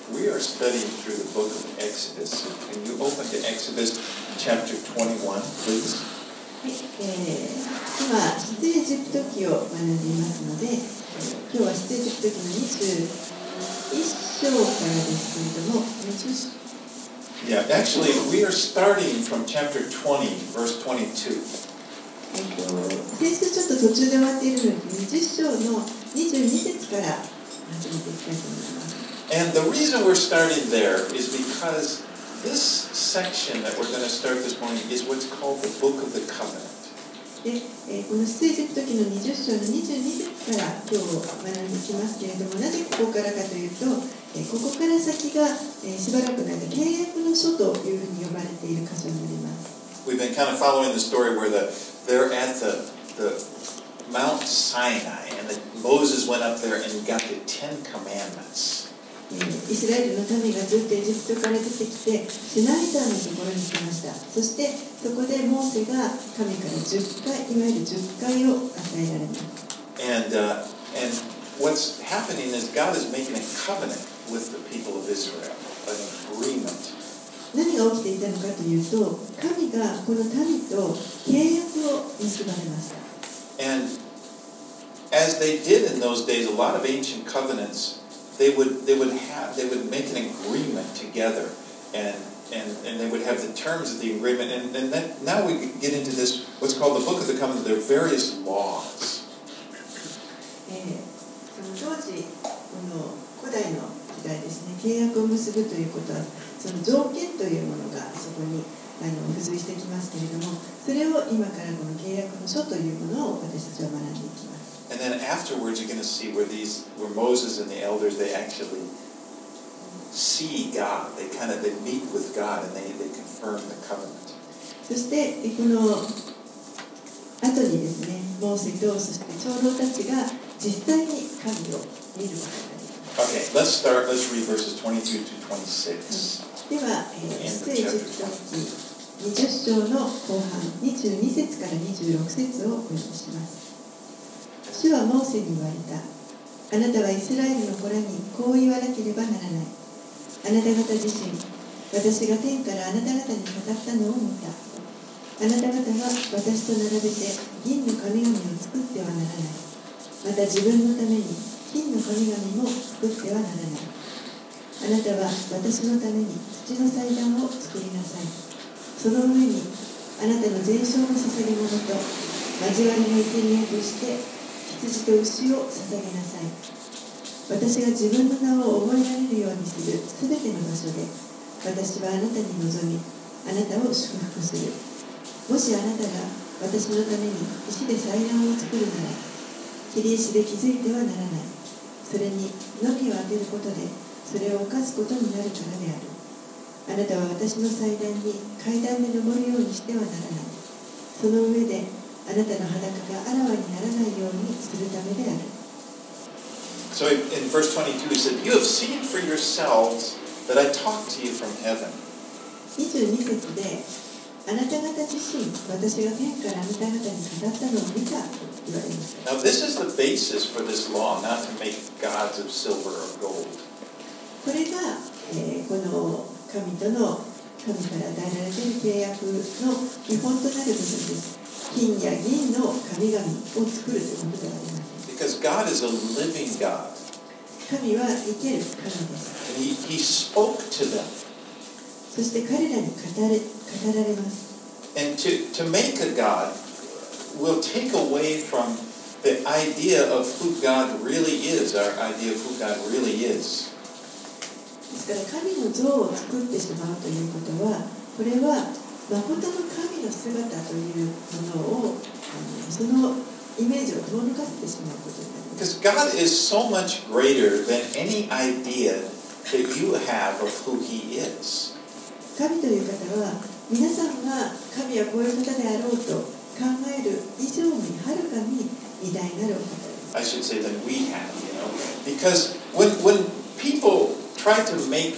We are studying through the book of Exodus. Can you open to Exodus chapter 21, please? はい、今、出エジプト記を学んでいますので、今日は出エジプト記の21章からですけれども、 Yeah, actually, we are starting from chapter 20, verse 22. 先週ちょっと途中で終わっているので、20章の22節から始めていきたいと思います。 And the reason we're starting there is because this section that we're going to start this morning is what's called the Book of the Covenant. で、この出エジプト記の20章の22節から今日学んでいきますけれども、なぜここからかというと、ここから先が、しばらくの間契約の書というふうに呼ばれている箇所になります。 We've been kind of following the story where they're at the Mount Sinai and Moses went up there and got the 10 Commandments. イスラエルの民がずっとエジプトから出てきてシナイ山のところに来ました。そしてそこでモーセが神から10回、いわゆる10回を与えられます。 And what's happening is God is making a covenant with the people of Israel, an agreement. 何が起きていたのかというと、神がこの民と契約を結ばれました。 And as they did in those days, a lot of ancient covenants.They would make an agreement together, and they would have the terms of the agreement, and then now we get into this what's called the Book of the Covenant. There are various laws. その当時この古代の時代ですね、契約を結ぶということはその条件というものがそこに付随してきますけれども、それを今からこの契約の書というものを私たちは学んでいきます。 And then afterwards, you're going to see where Moses and the elders, they actually see God. They meet with God and they confirm the covenant. そしてこの後にですね、モーセとそして長老たちが実際に神を見ることができます。 Okay, let's read verses 22 to 26. では、出エジプト記20章の後半22節から26節をお読みします。主はモーセに言われた。あなたはイスラエルの子らにこう言わなければならない。あなた方自身、私が天からあなた方に語ったのを見た。あなた方は私と並べて銀の神々を作ってはならない。また自分のために金の神々も作ってはならない。あなたは私のために土の祭壇を作りなさい。その上にあなたの全焼の捧げ物と交わりの生贄として羊と牛を捧げなさい。私が自分の名を覚えられるようにするすべての場所で、私はあなたに望み、あなたを祝福する。もしあなたが私のために石で祭壇を作るなら、切り石で築いてはならない。それにのみを当てることで、それを犯すことになるからである。あなたは私の祭壇に階段で登るようにしてはならない。その上で、あなたの裸があらわにならないようにするためである。 So in verse 22 he said, You have seen for yourselves that I talk to you from heaven. 22節で、あなた方自身、私が天からあなた方に語ったのを見たと言われました。 Now this is the basis for this law, not to make gods of silver or gold. これが、この神との神から与えられている契約の基本となる部分です。金や銀の神々を作るということではありません。 Because God is a living God. 神は生ける神です。 And he spoke to them. そして彼らに語られます。 And to make a God will take away from the idea of who God really is, our idea of who God really is. ですから神の像を作ってしまうということは、これは誠の神の姿というものをそのイメージを遠のかせてしまうことになります。 Because God is so much greater than any idea that you have of who He is. 神という方は皆さんが神はこういう方であろうと考える以上にはるかに偉大なるお方です。 I should say than we have, because when people try to make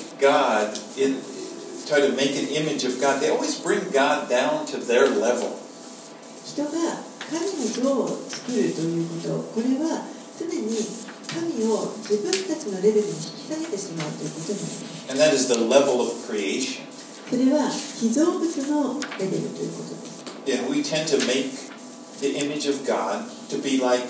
an image of God, they always bring God down to their level. 人が神の像を作るということ、これは常に神を自分たちのレベルに引き下げてしまうということになります。 And that is the level of creation. それは被造物のレベルということです。 And we tend to make the image of God to be like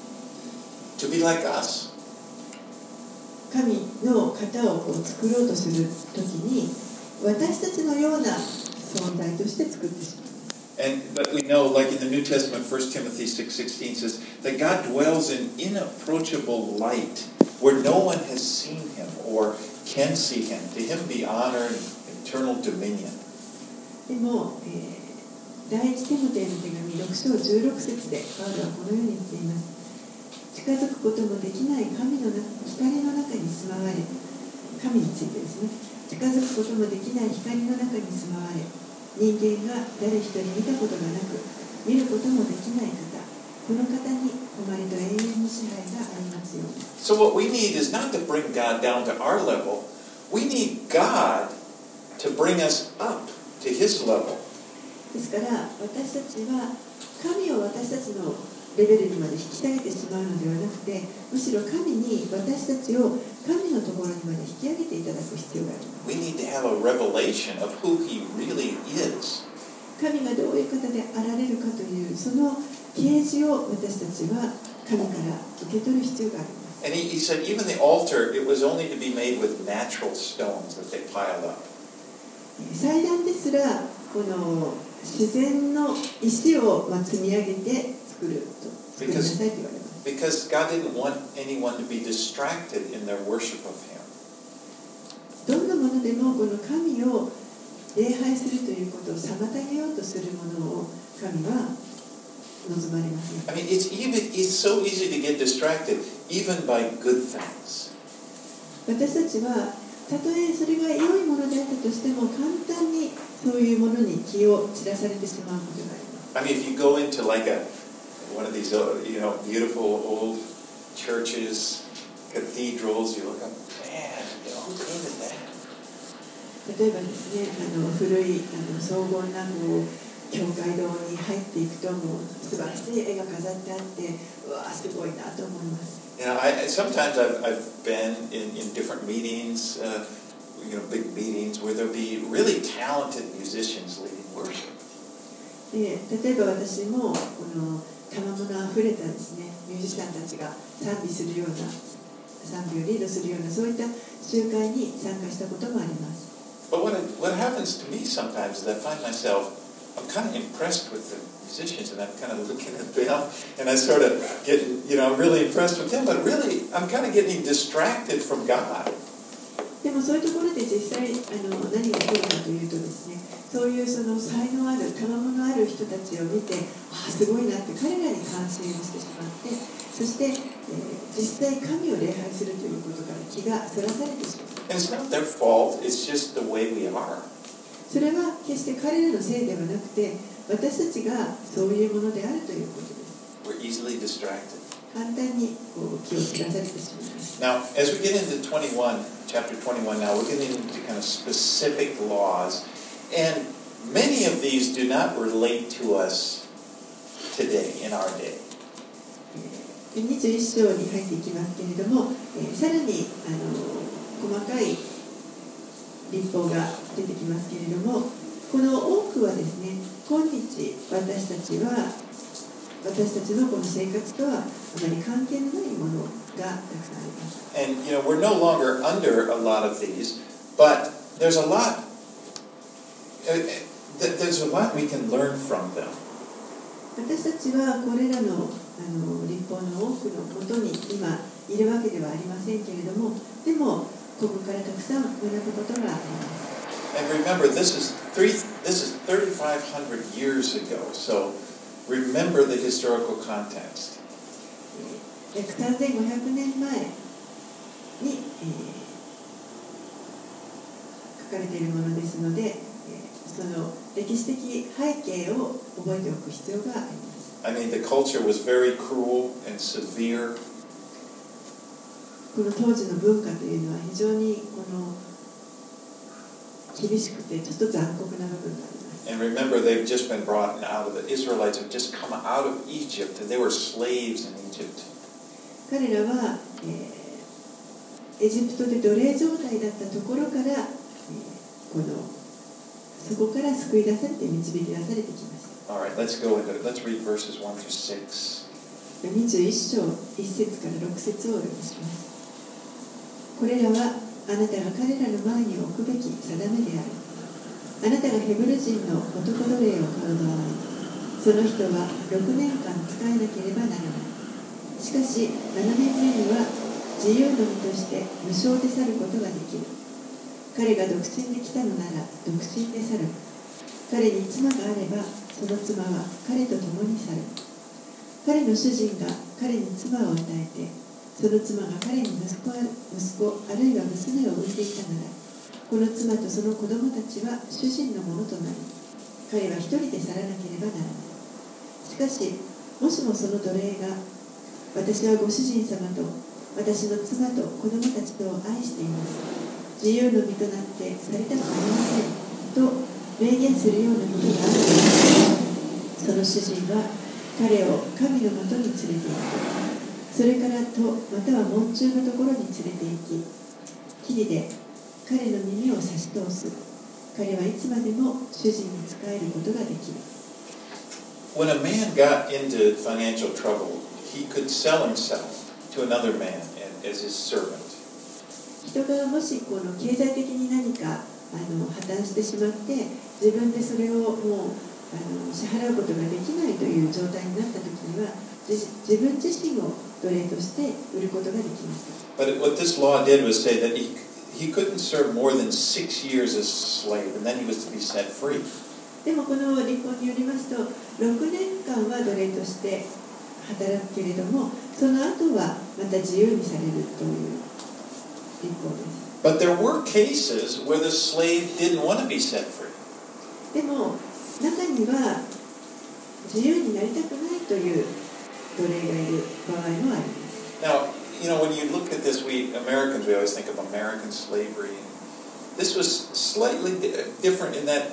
us. 神の型を作ろうとするときに私たちのような存在として作ってしまう。 But we know, like in the New Testament, 1 Timothy 6:16 says that God dwells in inapproachable light, where no one has seen him or can see him. To him be honor and eternal dominion. でも、第一テモテの手紙6章16節でパウロはこのように言っています。近づくこともできない神の光の中に住まわれ、神についてですね、近づくこともできない光の中に住まわれ、人間が誰一人見たことがなく見ることもできない方、この方に誉れと永遠の支配がありますように。 So what we need is not to bring God down to our level. We need God to bring us up to His level. ですから私たちは神を私たちのレベルにまで引き下げてしまうのではなくて、むしろ神に私たちを神のところにまで引き上げていただく必要があります。 We need to have a revelation of who He really is. 神がどういう方であられるかというその啓示を私たちは神から受け取る必要があります。 And he said even the altar, it was only to be made with natural stones that they piled up. 祭壇ですらこの自然の石を積み上げて作りなさいと言われます。 Because God didn't want anyone to be distracted in their worship of Him. どんなものでもこの神を礼拝するということを妨げようとするものを神は望まれません。 I mean, it's so easy to get distracted, even by good things. 私たちはたとえそれが良いものであったとしても簡単にそういうものに気を散らされてしまうことがあります。 I mean, if you go into like one of these, beautiful old churches, cathedrals, you look up, man, who painted that? 例えばですね、古い荘厳な教会堂に入っていくともう素晴らしい絵が飾ってあって、うわすごいなと思います。 Sometimes I've been in different meetings, big meetings where there'll be really talented musicians leading worship. で例えば私もこの賜物あふれたですねミュージシャンたちが賛美するような賛美をリードするようなそういった集会に参加したこともあります。 But what happens to me sometimes is I find myself I'm kind of impressed with the musicians, and I'm kind of looking at them, and I sort of get, I'm really impressed with them, but really I'm kind of getting distracted from God. でもそういうところで実際何が起こるかというとですね、そういうその才能ある賜物ある人たちを見て、すごいなって彼らに関心をしてしまって、そして、実際神を礼拝するということから気がそらされてしまう。 And it's not their fault, it's just the way we are. それは決して彼らのせいではなくて、私たちがそういうものであるということです。 We're easily distracted. 簡単に気を散らされてしまいます。 Now, as we get into chapter 21 now, we're getting into kind of specific laws, and many of these do not relate to us today, in our day. 21章に入っていきますけれども、さらに細かい立法が出てきますけれども、この多くはですね、今日私たちのこの生活とはあまり関係のないものがたくさんあります。 And we're no longer under a lot of these, but there's a lot we can learn from them. 私たちはこれらの立法の多くのもとに今いるわけではありませんけれども、でもここからたくさん学ぶことがあります。 And remember, this is 3,500 years ago, so remember the historical context. 約3500年前に、書かれているものですので、その歴史的背景を覚えておく必要があります。 I mean, the culture was very cruel and severe. この当時の文化というのは非常に厳しくてちょっと残酷な部分があります。 And remember, they've just been brought out of the Israelites have just come out of Egypt, and they were slaves in Egypt. 彼らはエジプトで奴隷状態だったところから、そこから救い出されて導き出されてきました。 All right, let's read verses 1 through 6. 21章1節から6節をお読みします。これらはあなたが彼らの前に置くべき定めである。あなたがヘブル人の男奴隷を買う場合、その人は6年間使えなければならない。しかし7年目には自由の身として無償で去ることができる。彼が独身で来たのなら独身で去る。彼に妻があればその妻は彼と共に去る。彼の主人が彼に妻を与えて、その妻が彼に息子あるいは娘を産んでいたなら、この妻とその子供たちは主人のものとなり、彼は一人で去らなければならない。しかし、もしもその奴隷が、私はご主人様と私の妻と子供たちとを愛しています。自由の身となって去りたくありません。と明言するようなことがあると、その主人は彼を神のもとに連れて行く。それからまたは門中のところに連れて行き、霧で彼の耳を差し通す。彼はいつまでも主人に仕えることができる。 When a man got into financial trouble, he could sell himself to another man as his servant. 人がもしこの経済的に何か破綻してしまって、自分でそれをもう支払うことができないという状態になったときには、自分自身を奴隷として売ることができます。 But what this law did was say that he couldn't serve more than 6 years as a slave, and then he was to be set free. でもこの立法によりますと、6年間は奴隷として働くけれども、その後はまた自由にされるという立法です。 But there were cases where the slave didn't want to be set free. でも中には自由になりたくないという奴隷がいる場合もあります。 Now, when you look at this, we always think of American slavery. This was slightly different in that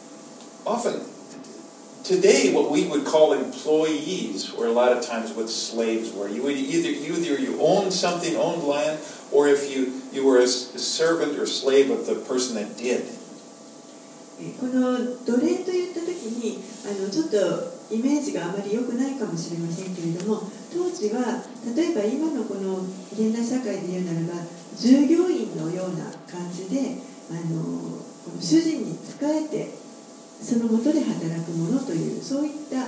often today what we would call employees were a lot of times what slaves were. You owned something, owned land, or if you were a servant or slave of the person that did. この奴隷といった時にちょっとイメージがあまり良くないかもしれませんけれども、当時は例えば今のこの現代社会で言うならば従業員のような感じでこの主人に仕えてその下で働く者というそういった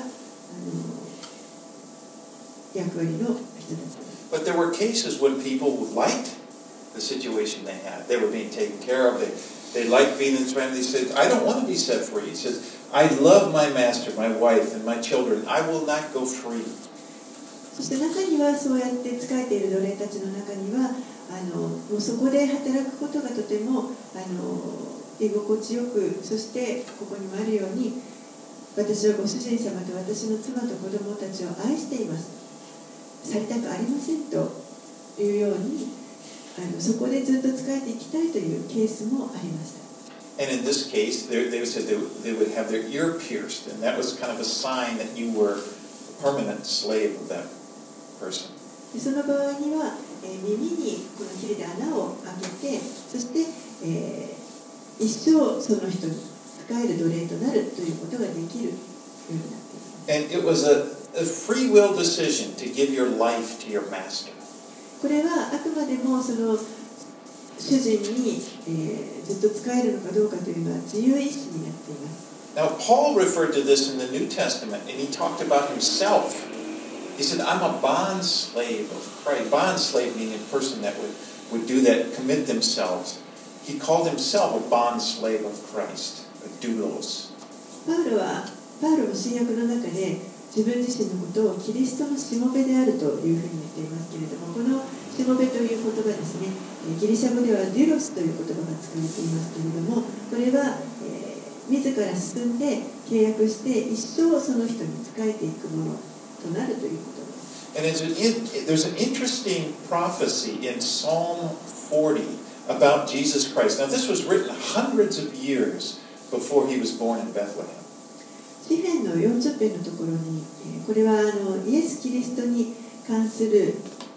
役割の人たちです。 But there were cases when people liked the situation they had. They were being taken care of. They liked being in this family. They said, I don't want to be set free. He says, I love my master, my wife, and my children. I will not go free. そして中にはそうやって仕えている奴隷たちの中にはもうそこで働くことがとても居心地よく、そしてここにもあるように私はご主人様と私の妻と子供たちを愛しています。去りたくありませんというようにそこでずっと仕えていきたいというケースもありました。 And in this case, they said they would have their ear pierced, and that was kind of a sign that you were a permanent slave of that person. その場合には、耳にこの切れで穴を開けて、そして、一生その人に仕える奴隷となるということができるようになっています。 And it was a free will decision to give your life to your master. これはあくまでもその主人に、ずっと仕えるのかどうかというのは自由意志になっています。 Now, Paul referred to this in the New Testament, and he talked about himself. He said, I'm a bond slave of Christ. Bond slave meaning a person that would do that, commit themselves. He called himself a bond slave of Christ, a doulos. パウロの新約の中で自分自身のことをキリストのしもべであるというふうに言っていますけれども、このしもべという言葉ですね、ギリシャ語ではデュロスという言葉が使われていますけれども、これは、自ら進んで契約して一生その人に仕えていくものとなるということです。 And there's an interesting prophecy in Psalm 40 about Jesus Christ. Now, this was written hundreds of years before he was born in Bethlehem. 詩篇の40編のところに、これはイエス・キリストに関する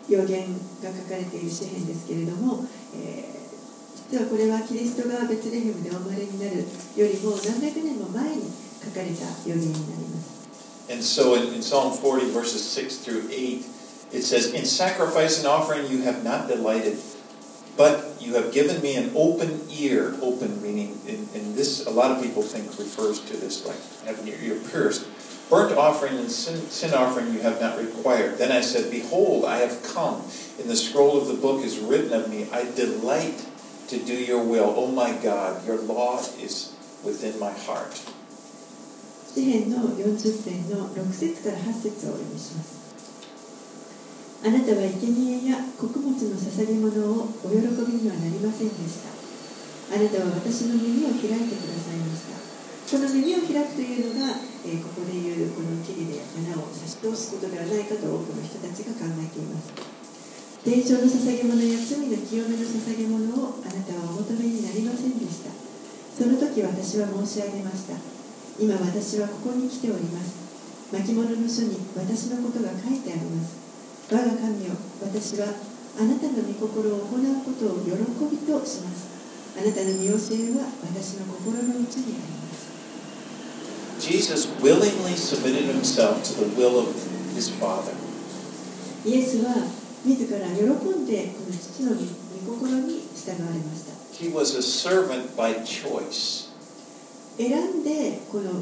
予言が書かれている詩篇ですけれども、実はこれはキリストがベツレヘムでお生まれになるよりも何百年も前に書かれた予言になります。 And so in Psalm 40 verses 6 through 8, it says, "In sacrifice and offering you have not delighted, but you have given me an open ear." Open meaning, in this, a lot of people think refers to this like having your ear pierced. "Burnt offering and sin offering you have not required. Then I said, Behold, I have come. In the scroll of the book is written of me, I delight to do your will. Oh my God, your law is within my heart." 詩篇の40編の6節から8節をお読みします。あなたは生贄や穀物の捧げ物をお喜びにはなりませんでした。あなたは私の耳を開いてくださいました。この耳を開くというのが、ここでいうこの木々で穴を差し通すことではないかと多くの人たちが考えています。伝承の捧げ物や罪の清めの捧げ物をあなたはお求めになりませんでした。その時私は申し上げました。今私はここに来ております。巻物の書に私のことが書いてあります。我が神よ、私はあなたの御心を行うことを喜びとします。あなたの御教えは私の心の内にあります。 Jesus willingly submitted himself to the will of his Father. イエスは自ら喜んでこの父の御心に従われました。 He was a servant by choice. 選んでこの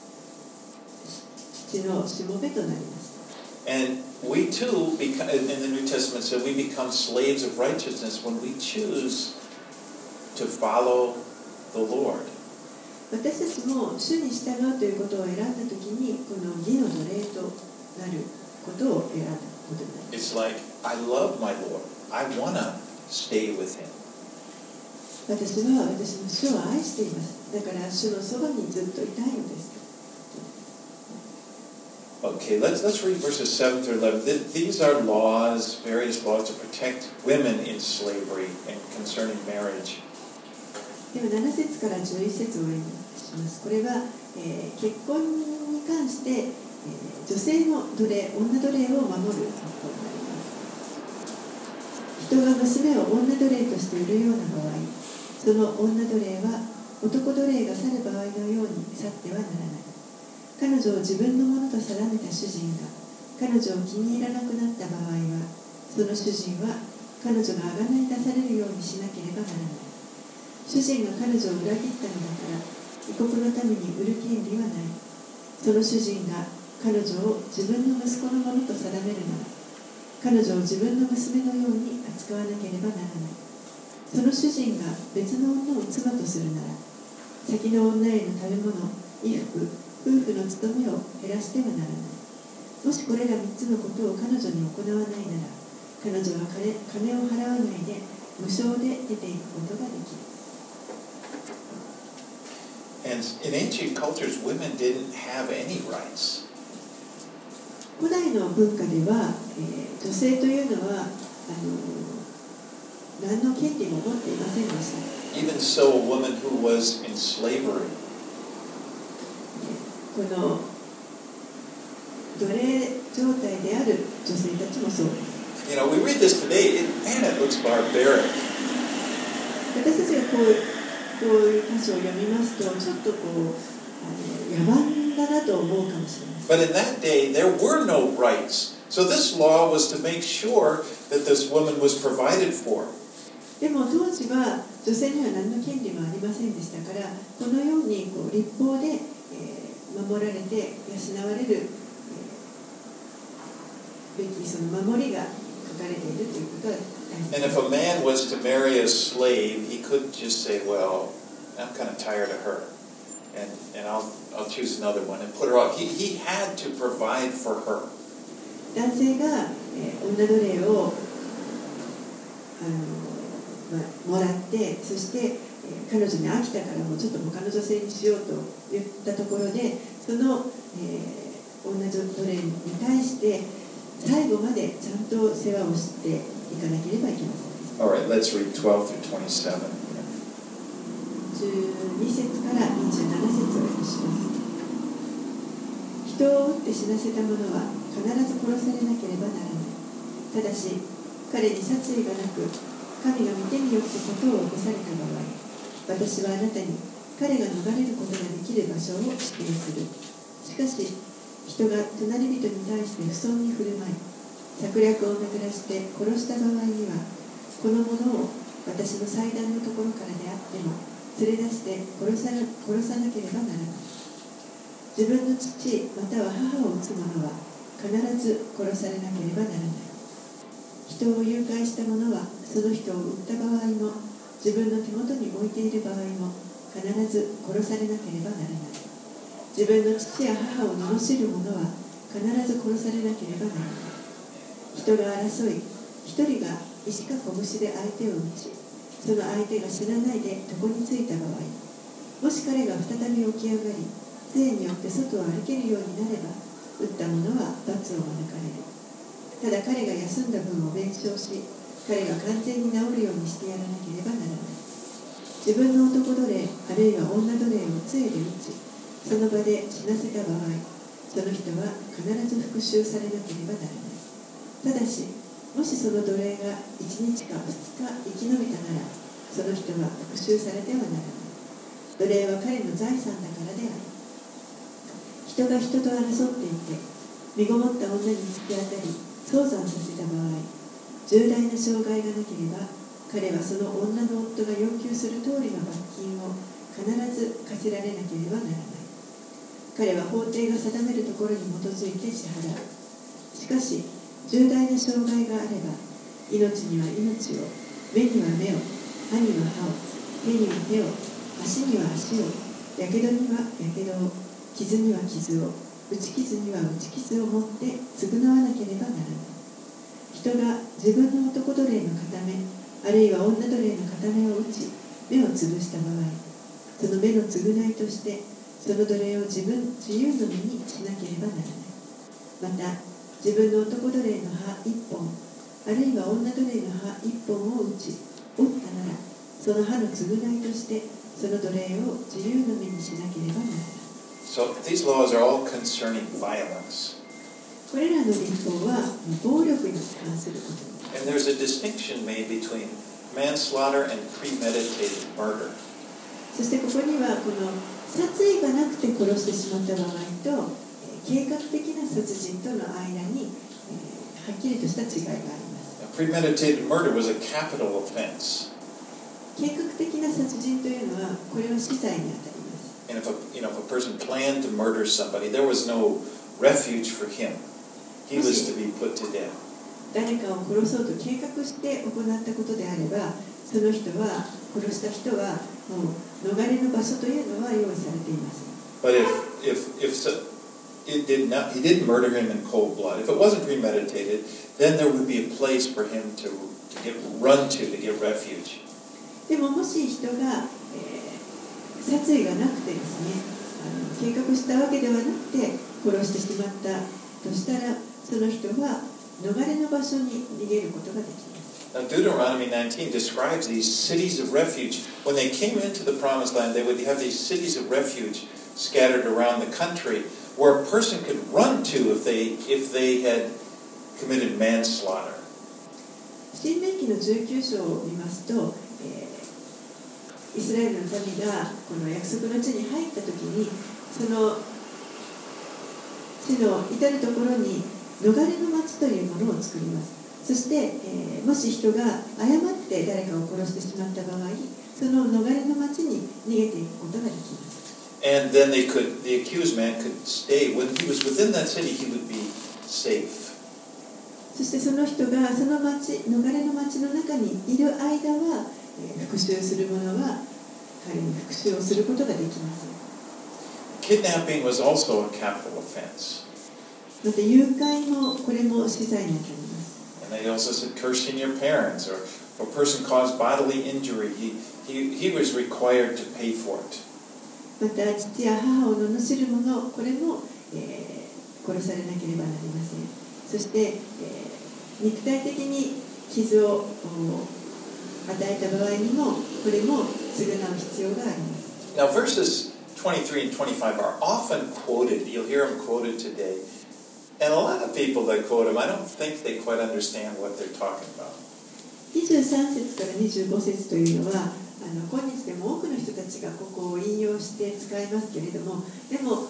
父のしもべとなりました。 And we too, in the New Testament, said we become slaves of righteousness when we choose to follow the Lord. 私たちも主に従うということを選んだときに、この義の奴隷となることを選んだことになります。 It's like, I love my Lord. I want to stay with him. 私は私の主を愛しています。だから主のそばにずっといたいのです。 Okay, let's read verses 7 through 11. These are laws, various laws to protect women in slavery and concerning marriage. では7節から11節をお読みします。これは、結婚に関して、女性の奴隷、女奴隷を守る法になります。人が娘を女奴隷として売るような場合、その女奴隷は男奴隷が去る場合のように去ってはならない。彼女を自分のものと定めた主人が彼女を気に入らなくなった場合は、その主人は彼女が贖い出されるようにしなければならない。主人が彼女を裏切ったのだから異国のために売る権利はない。その主人が彼女を自分の息子のものと定めるなら、彼女を自分の娘のように扱わなければならない。その主人が別の女を妻とするなら、先の女への食べ物、衣服、夫婦の務めを減らしてはならない。もしこれら3つのことを彼女に行わないなら、彼女は金を払わないで無償で出ていくことができる。 And in ancient cultures, women didn't have any rights. 古代の文化では、女性というのは何の権利も持っていませんでした。 Even so, a woman who was in slavery. この奴隷状態である女性たちもそうです。 You know, we read this today, and it looks barbaric. 私たちがこういう箇所を読みますと、ちょっと野蛮だなと思うかもしれません。 But in that day, there were no rights. So this law was to make sure that this woman was provided for. でも当時は女性には何の権利もありませんでしたから、このように律法で、守られて養われる、べきその守りが書かれているということは大切です。 And if a man was to marry a slave, he couldn't just say, well, I'm kind of tired of her, and I'll choose another one and put her off. He had to provide for her. 男性が、女奴隷をもらって、そして、彼女に飽きたからもうちょっと他の女性にしようと言ったところで、その、女奴隷に対して最後までちゃんと世話をしていかなければいけません。 All right, let's read 12 through 27. 12節から27節を読みします。人を撃って死なせた者は必ず殺されなければならない。 ただし彼に殺意がなく神が御手によって事を起こされた場合、私はあなたに彼が逃れることができる場所を指定する。しかし人が隣人に対して不遜に振る舞い策略を巡らして殺した場合には、この者を私の祭壇のところからであっても連れ出して殺さなければならない。自分の父または母を撃つ者は必ず殺されなければならない。人を誘拐した者はその人を撃った場合も自分の手元に置いている場合も必ず殺されなければならない。自分の父や母を罵る者は必ず殺されなければならない。人が争い、一人が石か拳で相手を撃ち、その相手が死なないで床についた場合、もし彼が再び起き上がり、杖によって外を歩けるようになれば、撃った者は罰を免れる。ただ彼が休んだ分を弁償し、彼が完全に治るようにしてやらなければならない。自分の男奴隷あるいは女奴隷を杖で撃ち、その場で死なせた場合、その人は必ず復讐されなければならない。ただし、もしその奴隷が1日か2日生き延びたなら、その人は復讐されてはならない。奴隷は彼の財産だからである。人が人と争っていて、身ごもった女に突き当たり、早産させた場合、重大な障害がなければ、彼はその女の夫が要求する通りの罰金を必ず課せられなければならない。彼は法廷が定めるところに基づいて支払う。しかし、重大な障害があれば、命には命を、目には目を、歯には歯を、手には手を、足には足を、やけどにはやけどを、傷には傷を、打ち傷には打ち傷を持って償わなければならない。人が自分の男奴隷の片目、あるいは女奴隷の片目を打ち、目を潰した場合、その目の償いとして、その奴隷を自由の身にしなければならない。また、自分の男奴隷の歯1本、あるいは女奴隷の歯1本を打ち、折ったなら、その歯の償いとして、その奴隷を自由の身にしなければならない。 So these laws are all concerning violence. これらの立法は暴力に関することです。 And there's a distinction made between manslaughter and premeditated murder. そしてここにはこの殺意がなくて殺してしまった場合と計画的な殺人との間にはっきりとした違いがあります。 Premeditated murder was a capital offense. 計画的な殺人というのはこれは死罪にあたります。 And if a person planned to murder somebody, there was no refuge for him. He was to be put to death. 誰かを殺そうと計画して行ったことであれば、その人は殺した人はもう逃れの場所というのは用意されています。 But he didn't murder him in cold blood. If it wasn't premeditated, then there would be a place for him to get refuge. でももし人が、殺意がなくてですね、計画したわけではなくて殺してしまったとしたら、その人は逃れの場所に逃げることができます。 Now, Deuteronomy 19 describes these cities of refuge. When they came into the promised land, they would have these cities of refuge scattered around the country where a person could run to if they had committed manslaughter. 申命記の19章を見ますと、イスラエルの民がこの約束の地に入ったときに、その地の至るところに逃れの町というものを作ります。そして、もし人が誤って誰かを殺してしまった場合、その逃れの町に逃げていくことができます。 And then the accused man could stay. When he was within that city, he would be safe. そしてその人がその町、逃れの町の中にいる間は、復讐する者は彼に復讐をすることができます。 Kidnapping was also a capital offense. また誘拐もこれも死罪になっています。 And they also said cursing your parents, or if a person caused bodily injury, he was required to pay for it. また父や母を罵る者、これも、殺されなければなりません。そして、肉体的に傷を与えた場合にもこれも償う必要があります。 Now verses 23 and 25 are often quoted. You'll hear them quoted today And a lot of people that quote him, I don't think they quite understand what they're talking about. 23節から25節というのは今日でも多くの人たちがここを引用して使いますけれども、でも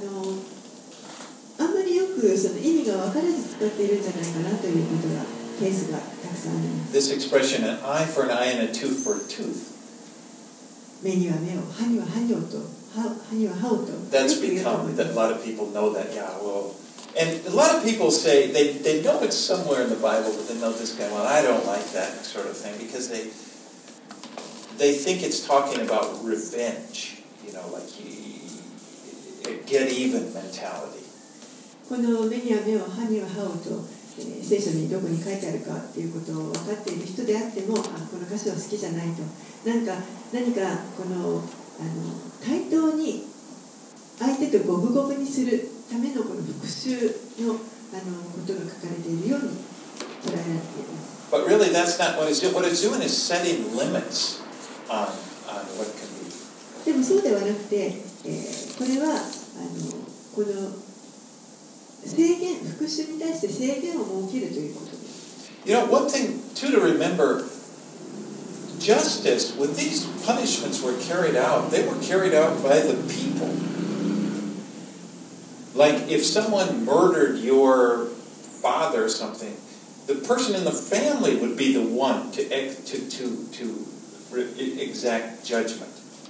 あんまりよくその意味が分からず使っているんじゃないかなということがケースがたくさんあります。 This expression, an eye for an eye and a tooth for a tooth. 目には目を、歯には歯と、歯には歯をと。 That's become that a lot of people know that. Yeah, well, and a lot of people say they know it's somewhere in the Bible, but they know this guy. Well, I don't like that sort of thing because they think it's talking about revenge. You know, like get even mentality. この目には目を、歯には歯をと、聖書にどこに書いてあるかっていうことを分かっている人であっても、この箇所は好きじゃないと。何かこの対等に相手と五分五分にするためのこの復讐のことが書かれているように捉えられています。 But really, that's not what it's doing. What it's doing is setting limits on what can be. でもそうではなくて、これはこの制限、復讐に対して制限を設けるということです。 You know, one thing too to remember, justice, when these punishments were carried out, they were carried out by the people. Like if someone murdered your father or something, the person in the family would be the one to exact judgment.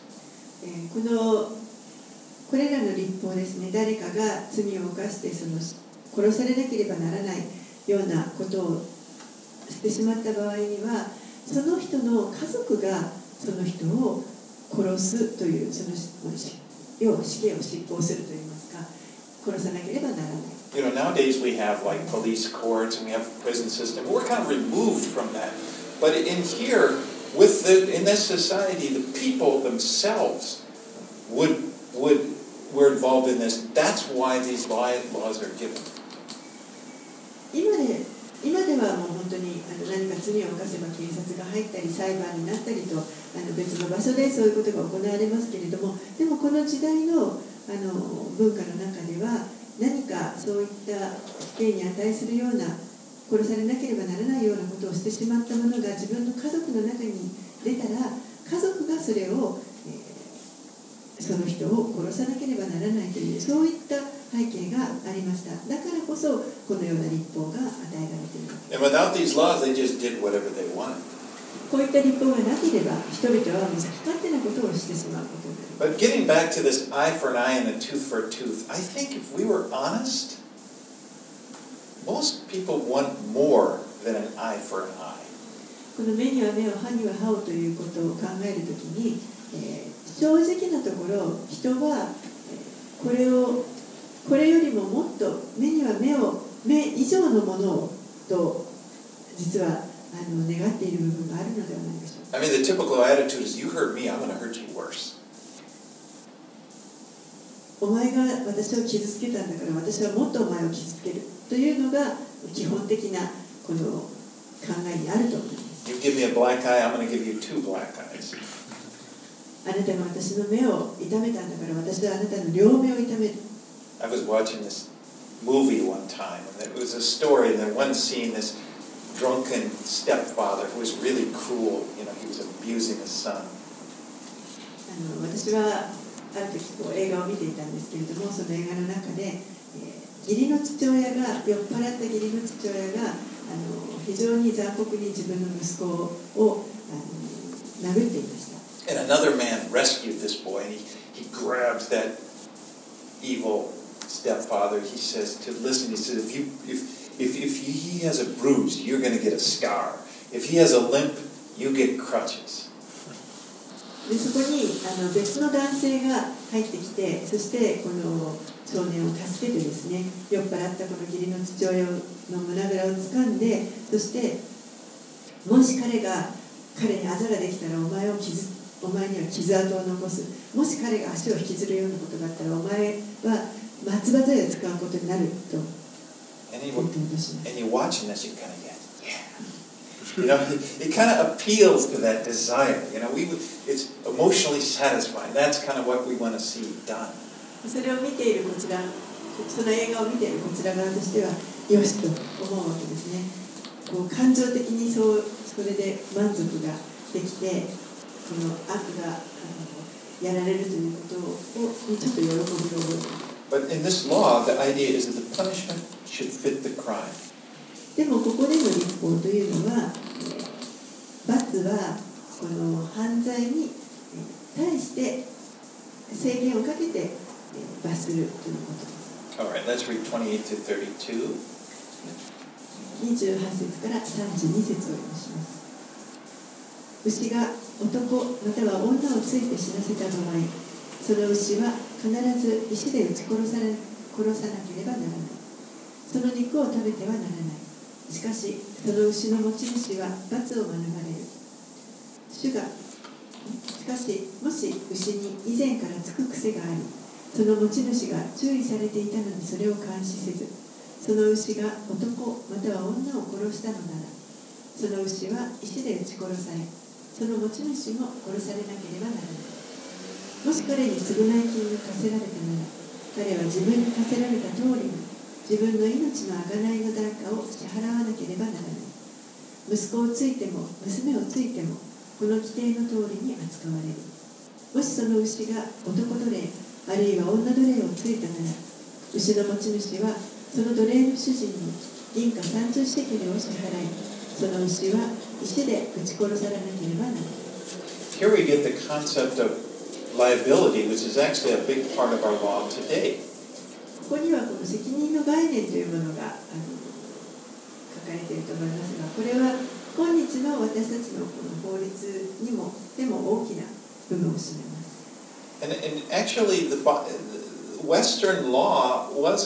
これらの律法ですね、誰かが罪を犯して殺されなければならないようなことをしてしまった場合には、その人の家族がその人を殺すという、要は死刑を執行するといいますか、殺さなければならない。 You know, nowadays we have like police courts and we have prison system. We're kind of removed from that. But in here, in this society, the people themselves were involved in this. That's why these laws are given. 今ではもう本当に何か罪を犯せば警察が入ったり裁判になったりと別の場所でそういうことが行われますけれども、でもこの時代の文化の中では何かそういった死刑に値するような、殺されなければならないようなことをしてしまった者が自分の家族の中に出たら、家族がそれを、その人を殺さなければならないという、そういった背景がありました。だからこそこのような律法が与えられています。 And without these laws, they just did whatever they wanted. こういった律法がなければ人々は好き勝手なことをしてしまうことになります。 But getting back to this eye for an eye and a tooth for a tooth, I think if we were honest, most people want more than an eye for an eye. この目には目を、歯には歯をということを考えるときに、正直なところ人はこれよりももっと目には目以上のものをと実は願っている部分があるのではないでしょうか。 I mean, the typical attitude is, you hurt me, I'm going to hurt you worse. お前が私を傷つけたんだから私はもっとお前を傷つけるというのが基本的なこの考えにあると思います。 You give me a black eye, I'm going to give you two black eyes. あなたが私の目を痛めたんだから私はあなたの両目を痛める。 I was watching this movie one time, and it was a story, and then one scene, this drunken stepfather who was really cruel, you know, he was abusing his son. 私はある時映画を見ていたんですけれども、その映画の中で、義理の父親が酔っ払った義理の父親が非常に残酷に自分の息子を殴っていました。 And another man rescued this boy, and he grabs that evil stepfather. He says, if he has a bruise, you're going to get a scar. If he has a limp, you get crutches. でそこに別の男性が入ってきて、そしてこの少年を助けてですね、酔っ払ったこの義理の父親の胸ぐらを掴んで、そしてもし彼にあざができたらお前には傷跡を残す。もし彼が足を引きずるようなことがあったらお前は松葉杖を使うことになると言って脅します。 And you watching this, you kind of get, yeah. You know, it kind of appeals to that desire. You know, it's emotionally satisfying. That's kind of what we want to see done. それを見ているこちらその映画を見ているこちら側としてはよしと思うわけですね。こう感情的にそれで満足ができて、この悪がやられるということにちょっと喜びを覚えている。 But in this law, the idea is that the punishment should fit the crime. でもここでの立法というのは、罰はこの犯罪に対して制限をかけて罰するということです。 All right, let's read 28 to 32. 28節から32節を読みします。牛が男または女をついて死なせた場合、その牛は必ず石で撃ち殺さなければならない。その肉を食べてはならない。しかしその牛の持ち主は罰を免れる。しかしもし牛に以前からつく癖があり、その持ち主が注意されていたのにそれを監視せず、その牛が男または女を殺したのなら、その牛は石で撃ち殺され、その持ち主も殺されなければならない。もし彼に償い金が課せられたなら、彼は自分に課せられた通りに自分の命の贖いの代価を支払わなければならない。息子をついても娘をついてもこの規定の通りに扱われる。もしその牛が男奴隷あるいは女奴隷をついたなら、牛の持ち主はその奴隷の主人に銀貨30シェケルを支払い、その牛は石で撃ち殺されなければならない。 Here we get the concept of liability, which is actually a big part of our law today. ここにはこの責任の概念というものが書かれていると思いますが、これは今日の私たちのこの法律にもでも大きな部分を占めます。 And actually, the Western law was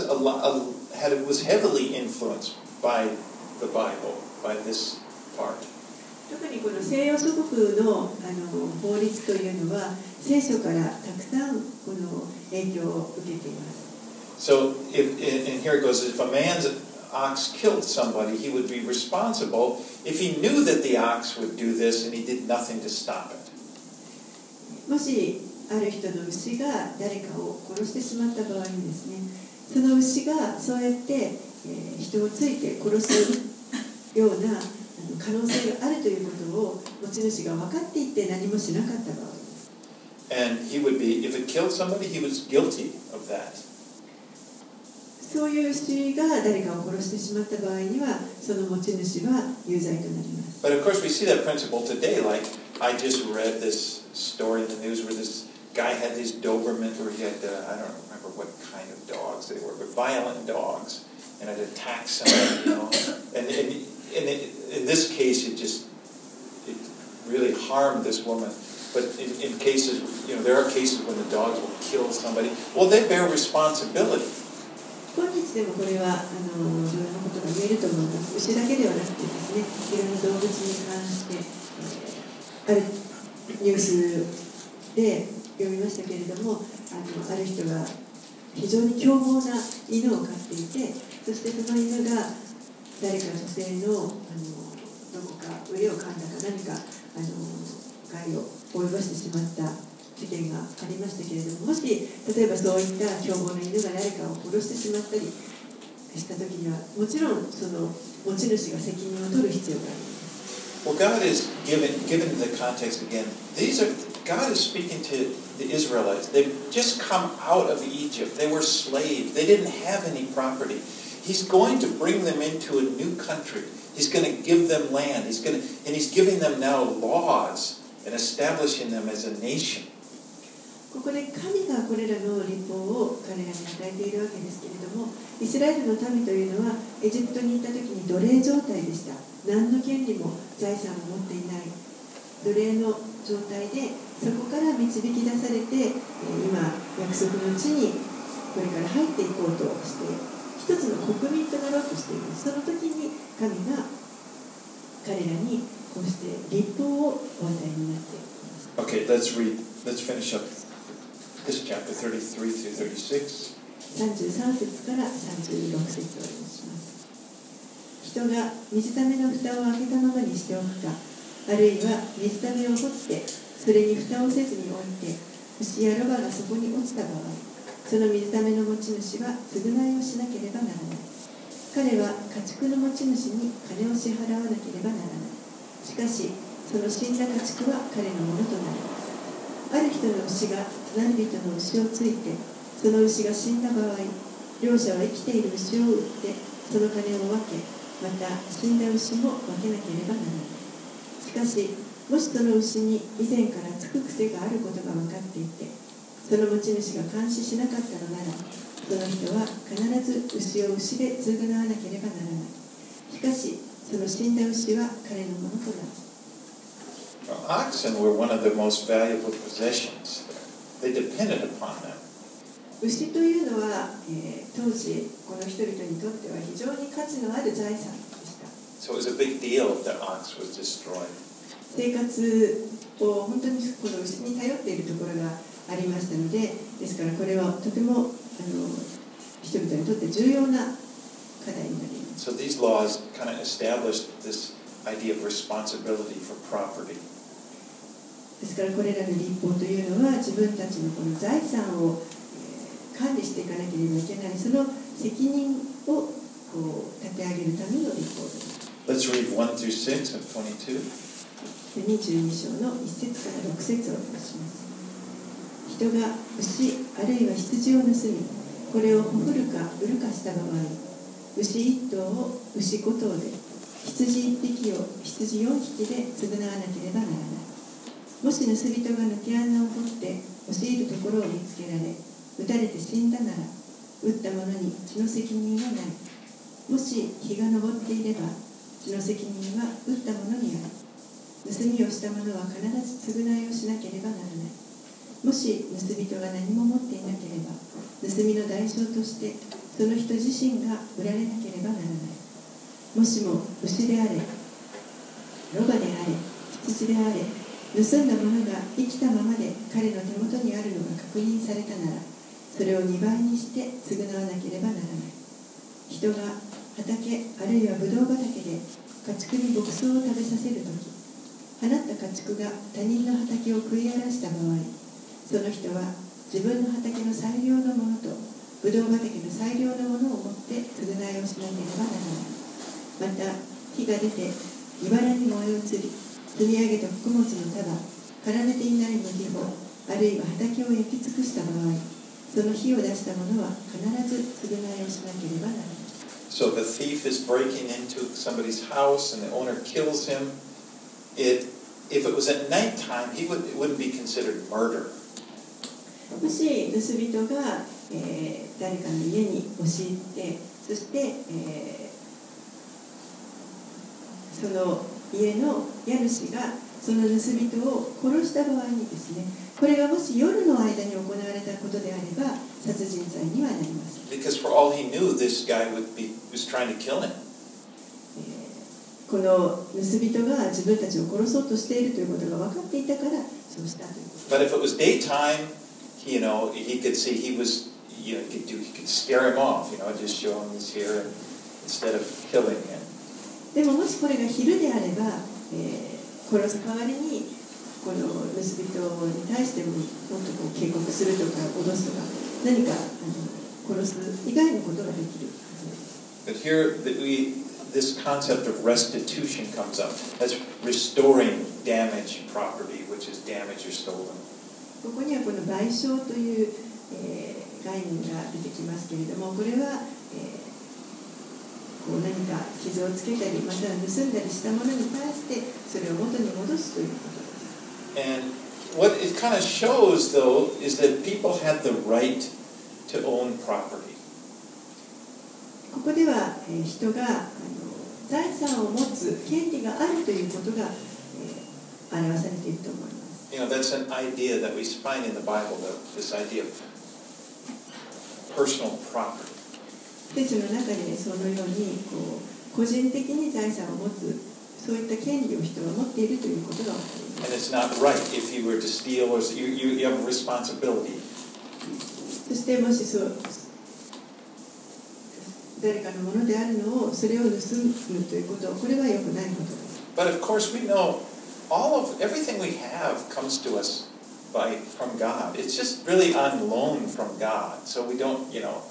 heavily influenced by the Bible, by this part. 特にこの西洋諸国の法律というのは聖書からたくさんこの影響を受けています。 So, and here it goes: if a man's ox killed somebody, he would be responsible if he knew that the ox would do this and he did nothing to stop it. もしある人の牛が誰かを殺してしまった場合にですね、その牛がそうやって、人をついて殺すような可能性があるということを持ち主が分かっていて何もしなかった場合です。 And he would be, if it killed somebody, he was guilty of that. そういう牛が誰かを殺してしまった場合には、その持ち主は有罪となります。 But of course, we see that principle today. Like I just read this story in the news where this guy had these Doberman, or he had I don't remember what kind of dogs they were, but violent dogs, and it attacked somebody, you know. And in this case, it really harmed this woman. But in cases, you know, there are cases when the dogs will kill somebody. Well, they bear responsibility. 今日でもこれはいろんなことが言えると思います。牛だけではなくてですね、いろんな動物に関して、あるニュースで読みましたけれども、ある人が非常に凶暴な犬を飼っていて、そしてその犬が誰か女性のどこか腕を噛んだか何か害を及ぼしてしまった事件がありましたけれども、もし例えばそういった凶暴な犬が誰かを殺してしまったりしたときには、もちろんその持ち主が責任を取る必要があります。 Well, God is given the context again. God is speaking to the Israelites. They've just come out of Egypt. They were slaves. They didn't have any property. He's going to bring them into a new country. He's going to give them land. And he's giving them now laws and establishing them as a nation. ここで神がこれらの立法を彼らに与えているわけですけれども、イスラエルの民というのはエジプトに行った時に奴隷状態でした。何の権利も財産も持っていない奴隷の状態で、そこから導き出されて今約束の地にこれから入っていこうとして一つの国民となろうとしています。その時に神が彼らにこうして立法をお与えになっています。 Okay, let's finish up this chapter 33 through 36. 33節から36節をお読みします。人が水ための蓋を開けたままにしておくか、あるいは水ためを掘ってそれに蓋をせずに置いて牛やロバがそこに落ちた場合、 その水ための持ち主は償いをしなければならない。彼は家畜の持ち主に金を支払わなければならない。しかしその死んだ家畜は彼のものとなる。ある人の牛が隣人の牛をついて、その牛が死んだ場合、両者は生きている牛を売ってその金を分け、また死んだ牛も分けなければならない。しかしもしその牛に以前からつく癖があることが分かっていて、その持ち主が監視しなかったのなら、その人は必ず牛を牛で償わなければならない。しかしその死んだ牛は彼のものとなる。 Oxen were one of the most valuable possessions. They depended upon them. 牛というのは、当時この人々にとっては非常に価値のある財産でした。 So it was a big deal if the ox was destroyed. 生活を本当にこの牛に頼っているところがありましたので、ですからこれはとても人々にとって重要な課題になります。 So these laws kind of established this idea of responsibility for property. ですからこれらの立法というのは自分たちのこの財産を管理していかなければいけない、その責任を立て上げるための立法です。 Let's read 1 through 6 of 22. 22章の1節から6節をお読みします。人が牛あるいは羊を盗み、これをほふるか売るかした場合、牛1頭を牛5頭で、羊1匹を羊4匹で償わなければならない。もし盗人が抜け穴を掘って押し入るところを見つけられ、撃たれて死んだなら、撃った者に血の責任はない。もし日が昇っていれば、血の責任は撃った者にある。盗みをした者は必ず償いをしなければならない。もし盗人が何も持っていなければ、盗みの代償としてその人自身が売られなければならない。もしも牛であれ、ロバであれ、羊であれ、盗んだものが生きたままで彼の手元にあるのが確認されたなら、それを2倍にして償わなければならない。人が畑あるいはブドウ畑で家畜に牧草を食べさせるとき、放った家畜が他人の畑を食い荒らした場合、その人は自分の畑の最良のものとブドウ畑の最良のものを持って償いをしなければならない。また火が出て茨に燃え移り、積み上げた穀物の束、枯られていない麦穂、あるいは畑を焼き尽くした場合、その火を出した者は必ず償いをしなければならない。 So if a thief is breaking into somebody's house and the owner kills him, if it was at nighttime, it wouldn't be considered murder. もし盗人が、誰かの家に押し入って、そして、その家の家主がその盗人を殺した場合にですね、これがもし夜の間に行われたことであれば殺人罪にはなります。 Because for all he knew, this guy was trying to kill him. この盗人が自分たちを殺そうとしているということが分かっていたからそうしたということ。 But if it was daytime, he could see he was, he could scare him off, just show him he's here instead of killing him. でももしこれが昼であれば、殺す代わりにこの盗人に対してももっと警告するとか脅すとか何か殺す以外のことができるはずです。 But here this concept of restitution comes up. That's restoring damaged property, which is damaged or stolen. ここにはこの賠償という、概念が出てきますけれども、これは、何か傷をつけたりまたは盗んだりしたものに対してそれを元に戻すということです。 And what it kind of shows, though, is that people had the right to own property. ここでは、人が財産を持つ権利があるということが、表されていると思います。 That's an idea that we find in the Bible, this idea of personal property. 聖書の中にそのように個人的に財産を持つそういった権利を人は持っているということが分かります。 And it's not right if you were to steal or you have a responsibility. そしてもし誰かのものであるのをそれを盗むということこれは良くないことです。 But of course we know everything we have comes to us from God. It's just really on loan from God. So we don't,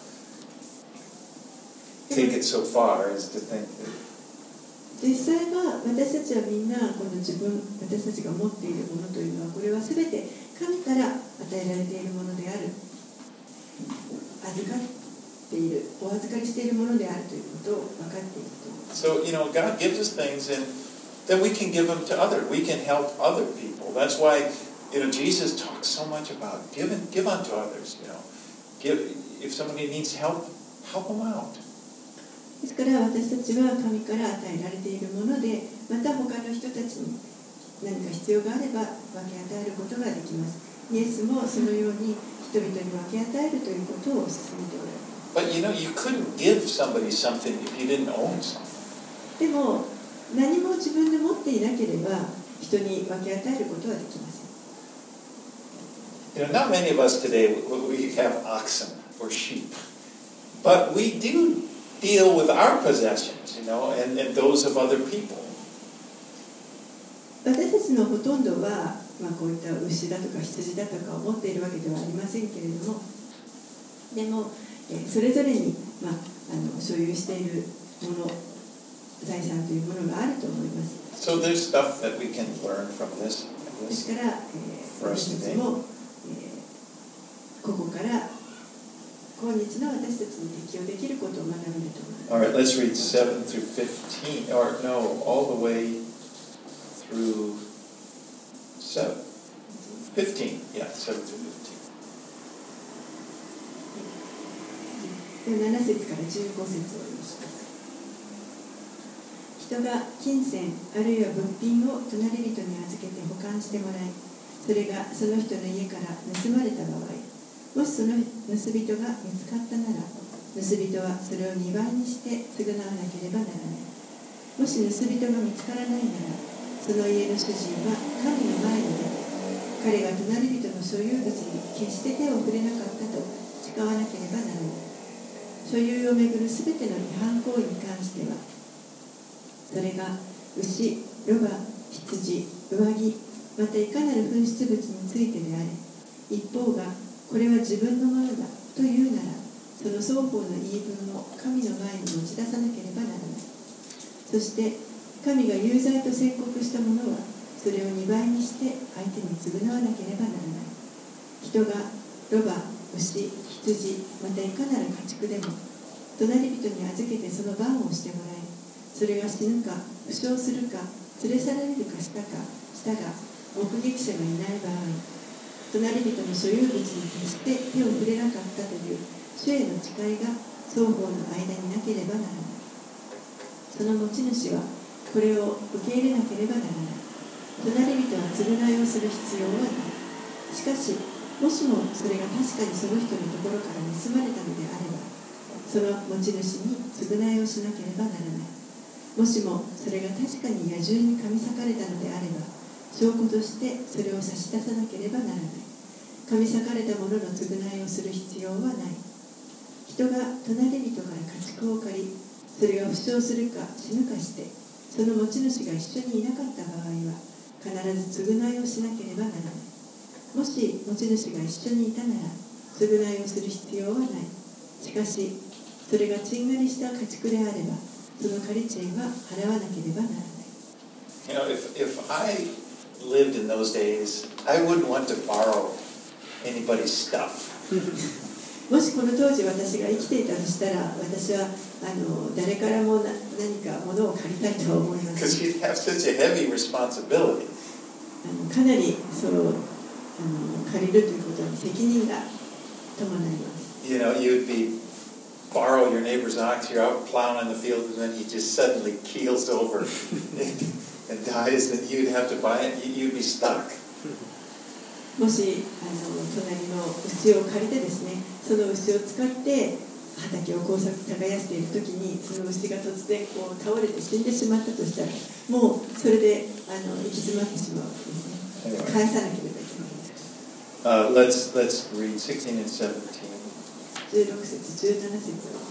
take it so far as to think that. 実際は私たちはみんなこの私たちが持っているものというのはこれは全て神から与えられているものである、預かっている、お預かりしているものであるということを分かっていると思います。 So, God gives us things and then we can give them to others. We can help other people. That's why, Jesus talks so much about give unto others, if somebody needs help them out. ですから私たちは神から与えられているもので、また他の人たちに何か必要があれば分け与えることができます。イエスもそのように人々に分け与えるということを勧めておられます。 But you couldn't give somebody something if you didn't own something. でも何も自分で持っていなければ人に分け与えることはできません。 Not many of us today we have oxen or sheep, but we do deal with our possessions, and those of other people. 私たちのほとんどは、こういった牛だとか羊だとかを持っているわけではありませんけれども、でも、それぞれに、所有しているもの、財産というものがあると思います。 So there's stuff that we can learn from this. ですから、私たちも、ここから今日の私たちに適用できることを学べると思います。 All right, let's read 7 through 15, or no, all the way through 15. Yeah, 7 through 15. 7節から15節を読みます。人が金銭あるいは物品を隣人に預けて保管してもらい、それがその人の家から盗まれた場合、もしその盗人が見つかったなら、盗人はそれを2倍にして償わなければならない。もし盗人が見つからないなら、その家の主人は神の前に出て、彼が隣人の所有物に決して手を触れなかったと誓わなければならない。所有をめぐるすべての違反行為に関しては、それが牛、ロバ、羊、上着、またいかなる紛失物についてであれ、一方がこれは自分のものだというなら、その双方の言い分を神の前に持ち出さなければならない。そして神が有罪と宣告したものは、それを2倍にして相手に償わなければならない。人がロバ、牛、羊、またいかなる家畜でも隣人に預けてその番をしてもらい、それが死ぬか負傷するか連れ去られるかしたが目撃者がいない場合、隣人の所有物に決して手を触れなかったという主への誓いが双方の間になければならない。その持ち主はこれを受け入れなければならない。隣人は償いをする必要はない。しかしもしもそれが確かにその人のところから盗まれたのであれば、その持ち主に償いをしなければならない。もしもそれが確かに野獣に噛み裂かれたのであれば、証拠としてそれを差し出さなければならない。噛み裂かれたものの償いをする必要はない。人が隣人から家畜を借り、それが負傷するか死ぬかして、その持ち主が一緒にいなかった場合は、必ず償いをしなければならない。もし持ち主が一緒にいたなら、償いをする必要はない。しかし、それがちんがりした家畜であれば、その借り賃は払わなければならない。 If I lived in those days, I wouldn't want to borrow anybody's stuff. もしこの当時私が生きていたとしたら、私は誰からも何か物を借りたいとは思います。 Because you'd have such a heavy responsibility. かなり借りるということに責任が伴います。 You'd borrow your neighbor's ox, you're out plowing in the field, and then he just suddenly keels over and dies, and you'd have to buy it, you'd be stuck. もし隣の牛を借りてですね、その牛を使って畑を耕しているときに、その牛が突然倒れて死んでしまったとしたら、もうそれで行き詰まってしまうわけですね。返さなければいけないです。 Let's read 16 and 17. 16節、17節をします。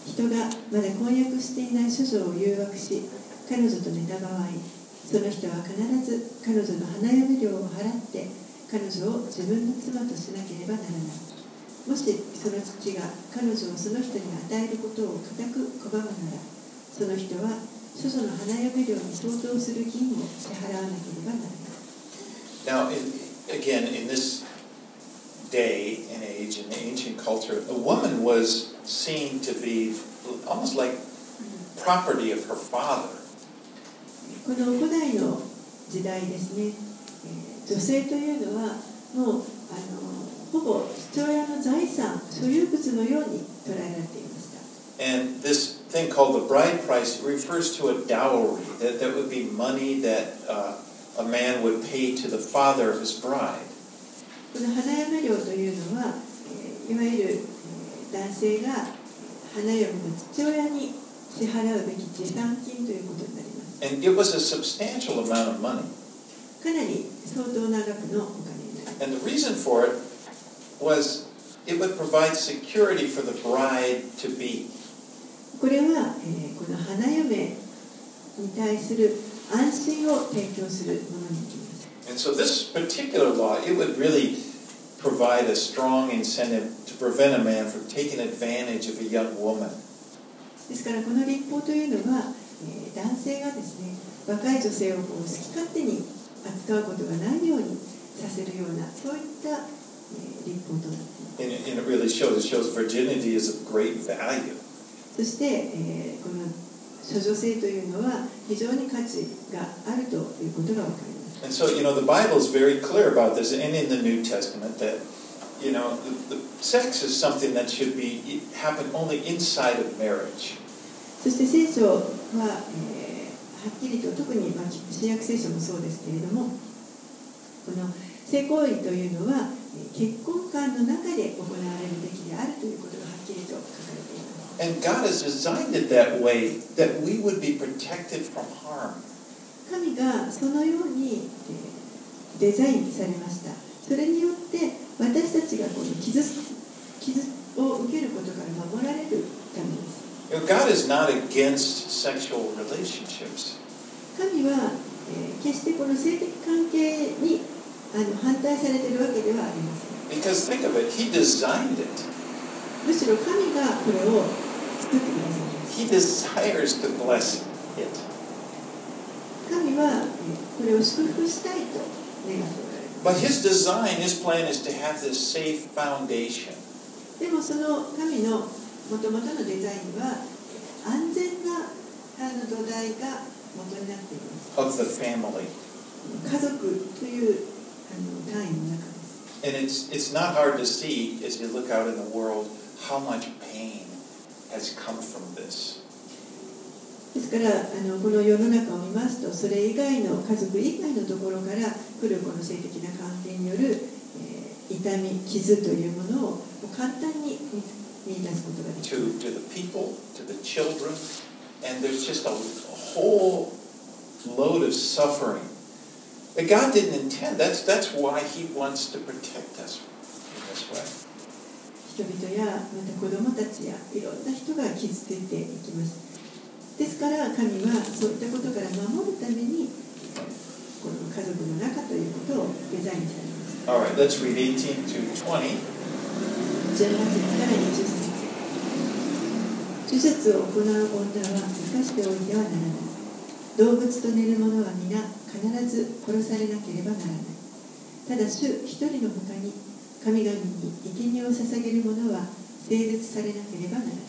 人がまだ婚約していない処女を誘惑し、彼女と寝た場合、その人は必ず彼女の花嫁料を払って彼女を自分の妻としなければならない。もしその父が彼女をその人に与えることを固く拒むなら、その人は処女の花嫁料に相当する銀を支払わなければならない。 Now, again, in this day and age, in the ancient culture, a woman was seen to be almost like property of her father. この古代の時代ですね、女性というのはもうほぼ父親の財産、所有物のように捉えられていました。 And this thing called the bride price refers to a dowry, that would be money that a man would pay to the father of his bride. この花嫁料というのは、いわゆる男性が花嫁の父親に支払うべき持参金ということになります。 And it was a substantial amount of money. かなり相当な額のお金になります。 And the reason for it was it would provide security for the bride to be. これは、この花嫁に対する安心を提供するものになります。 And so this particular law, it would really provide a strong incentive to prevent a man from taking advantage of a young woman. ですからこの立法というのは、男性がですね、若い女性を好き勝手に扱うことがないようにさせるような、そういった、立法となっています。 And it really shows virginity is of great value. そして、この処女性というのは非常に価値があるということがわかります。 And so, the Bible is very clear about this, and in the New Testament, that, the sex is something that should happen only inside of marriage. そして聖書は、はっきりと、特に、新約聖書もそうですけれども、この性行為というのは結婚観の中で行われるべきであるということがはっきりと書かれています。 And God has designed it that way, that we would be protected from harm. 神がそのようにデザインされました。それによって私たちがこの傷を受けることから守られるためです。 God is not against sexual relationships. 神は、決してこの性的関係に反対されているわけではありません。 Because think of it, He designed it. むしろ神がこれを作ってくださいます。 He desires to bless it. 神はこれを祝福したいと願っておられます。 But His design, His plan is to have this safe foundation. でもその神の元々のデザインは安全な土台が元になっています。 Of the family. 家族という単位の中です。 And it's not hard to see as you look out in the world how much pain has come from this. ですからこの世の中を見ますと、それ以外の家族以外のところから来るこの性的な関係による、痛み、傷というものを簡単に見出すことができます。 To the people, to the children, and there's just a whole load of suffering that God didn't intend. That's why He wants to protect us in this way. 人々やまた子供たちやいろんな人が傷ついていきます。ですから神はそういったことから守るためにこの家族の中ということをデザインされます。 All right, let's read 18 to 20. 18節から20節。手術を行う女は生かしておいてはならない。動物と寝る者は皆必ず殺されなければならない。ただ主一人のほかに神々に生贄を捧げる者は聖絶されなければならない。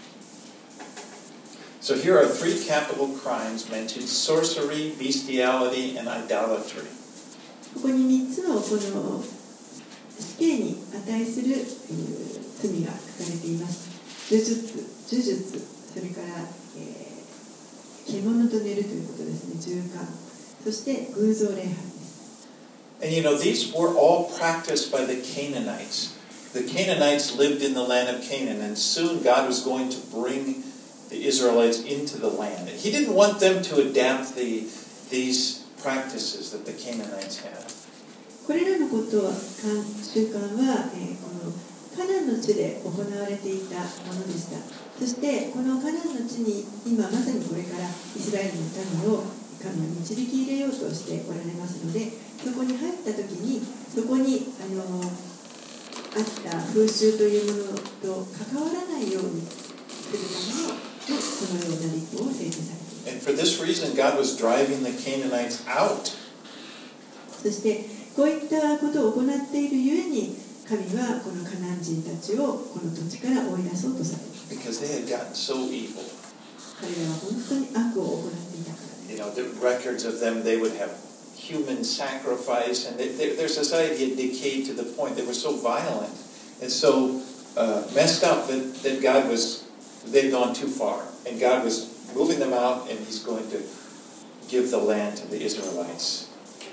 So here are three capital crimes mentioned: sorcery, bestiality, and idolatry. ここに3つのこの死刑に値する罪が書かれています。呪術、それから、獣と寝るということですね、従姦、そして偶像礼拝です。 And these were all practiced by the Canaanites. The Canaanites lived in the land of Canaan, and soon God was going to bring the Israelites into the land. He didn't want them to adapt these practices that the Canaanites had. これらのことは習慣は、このカナンの地で行われていたものでした。そしてこのカナンの地に今まさにこれからイスラエルの民を神は導き入れようとしておられますので、 そこに入った時にそこにあった風習というものと関わらないようにするためのこのような立法を制定されています。 And for this reason, God was driving the Canaanites out. そしてこういったことを行っているゆえに神はこのカナン人たちをこの土地から追い出そうとされる。 Because they had gotten so evil. 彼らは本当に悪を行っていたからです。 You know, the records of them, they would have human sacrifice, and their society had decayed to the point they were so violent and so messed up that God was, they'd gone too far, and God was moving them out, and He's going to give the land to the Israelites.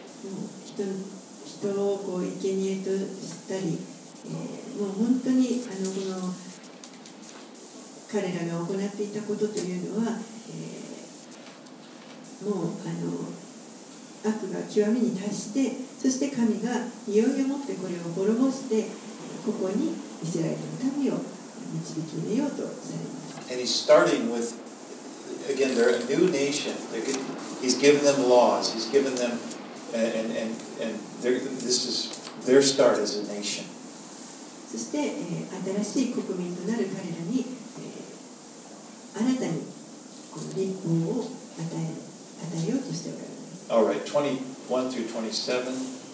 人をこう生贄としたり、もう本当にこの彼らが行っていたことというのは、もう悪が極みに達して、そして神がいよいよもってこれを滅ぼして、ここにイスラエルの民を導き入れようとされます。 And He's starting with, again, they're a new nation. He's given them laws. He's given them, and this is their start as a nation. そして、新しい国民となる彼らに、新たにこの立法を与えようとしておられます。 All right, 21 through 27.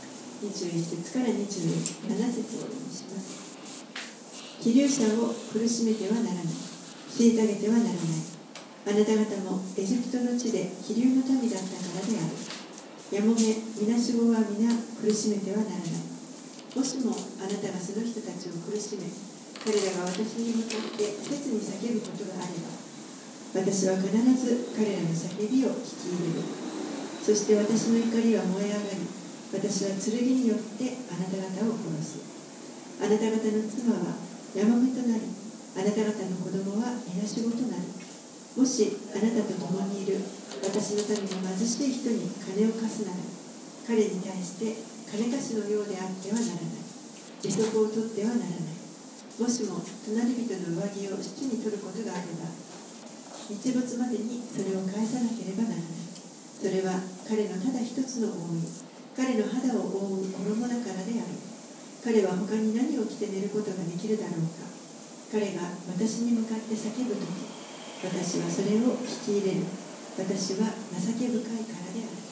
21節から27節をお読みします。希流者を苦しめてはならない。虐げてはならない。あなた方もエジプトの地で希流の民だったからである。やもめ、みなしごは皆苦しめてはならない。もしもあなたがその人たちを苦しめ、彼らが私に向かって切に叫ぶことがあれば、私は必ず彼らの叫びを聞き入れる。そして私の怒りは燃え上がり、私は剣によってあなた方を殺す。あなた方の妻はやもめとなり、あなた方の子供はみなしごとなる。もしあなたと共にいる私の民の貧しい人に金を貸すなら、彼に対して金貸しのようであってはならない。利息を取ってはならない。もしも隣人の上着を質に取ることがあれば、日没までにそれを返さなければならない。それは彼のただ一つの覆い、彼の肌を覆う衣だからである。彼は他に何を着て寝ることができるだろうか。彼が私に向かって叫ぶとき、私はそれを聞き入れる。私は情け深いからである。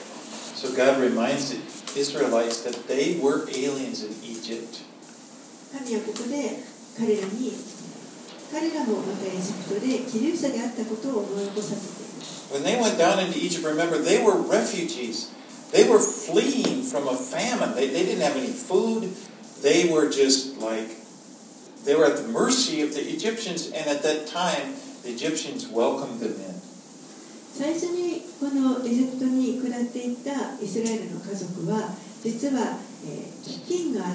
So God reminds the Israelites that they were aliens in Egypt. 神はここで彼らもまたエジプトで寄留者であったことを思い起こさせています。 When they went down into Egypt, remember, they were refugees. They were fleeing from a famine. They didn't have any food. They were just like, they were at the mercy of the Egyptians, and at that time, the Egyptians welcomed them in. 最初にこのエジプトに下っていったイスラエルの家族は、実は、飢饉があって、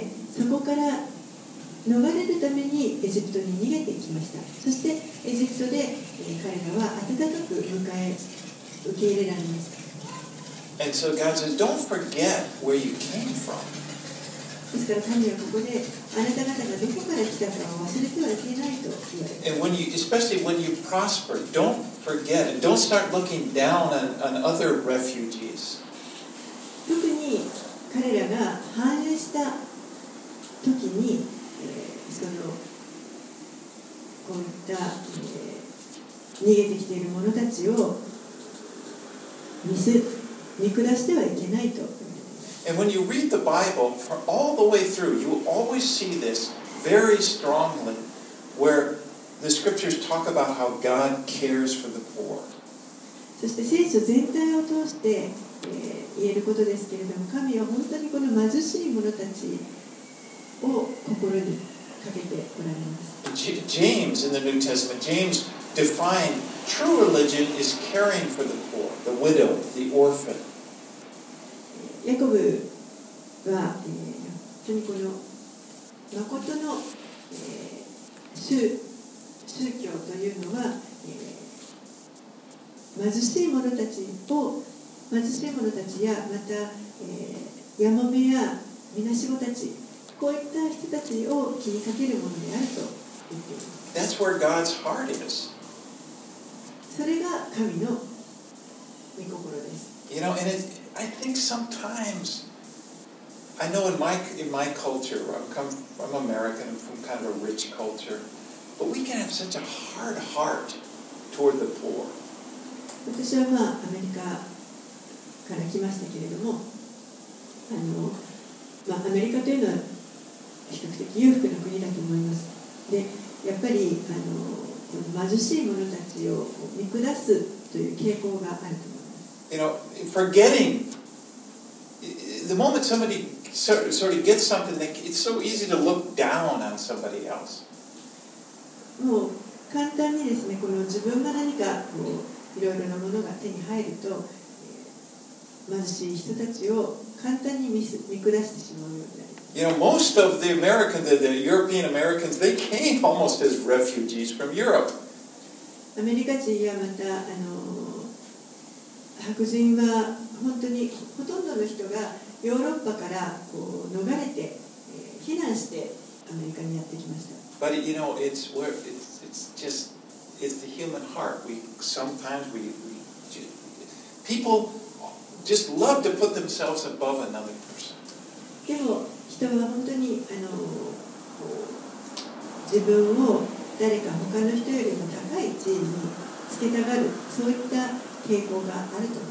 そこから逃れるためにエジプトに逃げてきました。そしてエジプトで、彼らは温かく受け入れられました。 And so God says, don't forget where you came from. ですから神はここであなた方がどこから来たかを忘れてはいけないと言われています。 And especially when you prosper, don't forget and don't start looking down on other refugees. 特に彼らが繁栄した時に、こういった、逃げてきている者たちを見下してはいけないと。 And when you read the Bible, for all the way through, you will always see this very strongly, where the scriptures talk about how God cares for the poor. そして聖書全体を通して、言えることですけれども、神は本当にこの貧しい者たちを心にかけておられます。 James in the New Testament, James defined true religion is caring for the poor, the widow, the orphan. ヤコブは、本当にこの誠の、宗教というのは、貧しい者たちやまた、やもめやみなしごたち、こういった人たちを気にかけるものであると言っています。 That's where God's heart is. それが神の御心です。 You know, and I think sometimes, I know in my culture, I'm American, I'm from kind of a rich culture, but we can have such a hard heart toward the poor. 私はアメリカから来ましたけれども、アメリカというのは比較的裕福な国だと思います。で、やっぱりこの貧しい者たちを見下すという傾向があると思います。 You know, forgetting the moment somebody sort of gets something, it's so easy to look down on somebody else. もう簡単にですね、この自分が何かいろいろなものが手に入ると、貧しい人たちを簡単に見下してしまうようになります。 You know, most of the European Americans, they came almost as refugees from Europe. アメリカ人やまた白人は本当にほとんどの人がヨーロッパから逃れて、避難してアメリカにやってきました。 But you know, it's the human heart. People just love to put themselves above another person. でも人は本当に自分を誰か他の人よりも高い地位につけたがる、そういった傾向があると思います。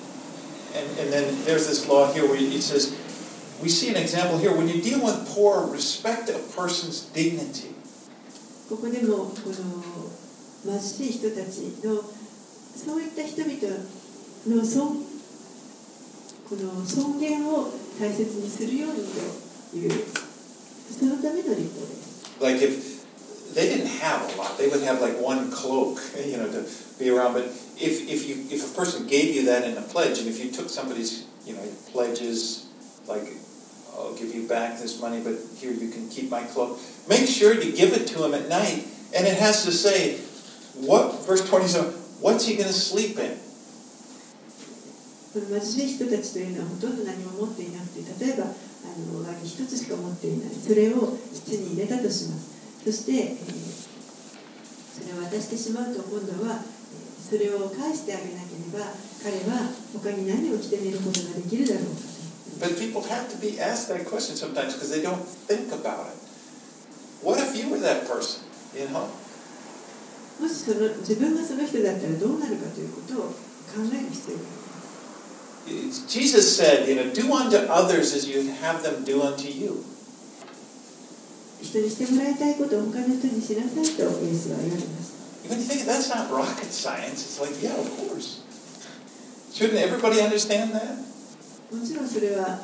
And then there's this law here where it says, we see an example here, when you deal with poor, respect a person's dignity. ここでもこの貧しい人たちのそういった人々のこの尊厳を大切にするようにというそのための立法です。 Like if they didn't have a lot, they would have like one cloak, you know, to be around. But if a person gave you that in a pledge, and if you took somebody's, you know, pledges, like I'll give you back this money, but here you can keep my cloak. Make sure to give it to him at night, and it has to say, verse 27, what's he going to sleep in? この貧しい人たちというのはほとんど何も持っていなくて、例えば上着一つしか持っていない、それを室に入れたとします。そして、それを渡してしまうと今度はそれを返してあげなければ彼は他に何を着て寝ることができるだろうかと。 But people have to be asked that question sometimes because they don't think about it. What if you were that person? You know? もし自分がその人だったらどうなるかということを考える必要があります。 Jesus said, you know, do unto others as you have them do unto you. 人にしてもらいたいことを他の人にしなさいとイエスは言われました。 When you think that's not rocket science, it's like, yeah, of course. Shouldn't everybody understand that? もちろんそれは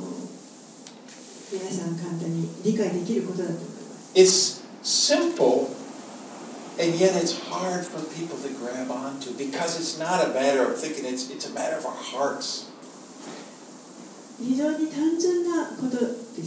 皆さん簡単に理解できることだと思います。 It's simple, and yet it's hard for people to grab onto because it's not a matter of thinking; it's a matter of our hearts. 非常に単純なことです。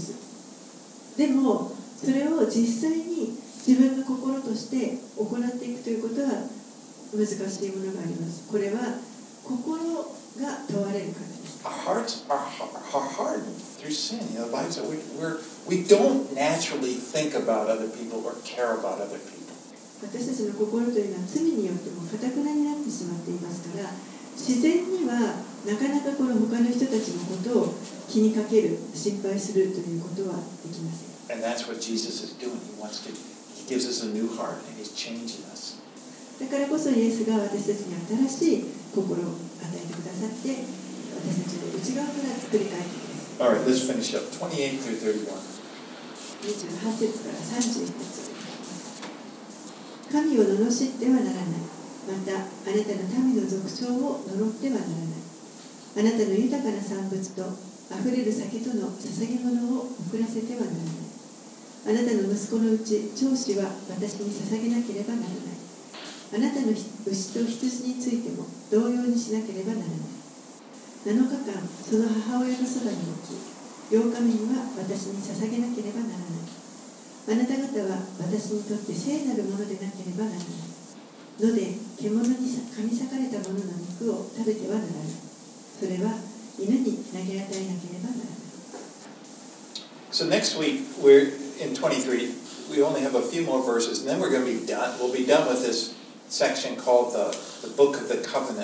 でもそれを実際に自分の心として行っていくということは難しいものがあります。これは心が問われるからです。 Our hearts are hardened through sin. You know, the Bible says we don't naturally think about other people or care about other people. 私たちの心というのは罪によっても堅くなになってしまっていますから、自然にはなかなかこの他の人たちのことを気にかける、心配するということはできません。 And that's what Jesus is doing. He gives us a new heart and he's changing us. だからこそイエスが私たちに新しい心を与えてくださって、私たちの内側から作り変えてください。 All right, let's finish up. 28 through 31. 28節から31節。神を罵ってはならない。また、あなたの民の族長を呪ってはならない。あなたの豊かな産物とあふれる酒との捧げ物を送らせてはならない。あなたの息子のうち長子は私に捧げなければならない。あなたの牛と羊についても同様にしなければならない。7日間その母親のそばに置き、8日目には私に捧げなければならない。あなた方は私にとって聖なるものでなければならない。野で獣に噛み裂かれたものの肉を食べてはならない。それは犬に投げ与えなければならない。 So next week we're in 23. We only have a few more verses, and then we're going to be done. We'll be done with this section called the Book of the Covenant.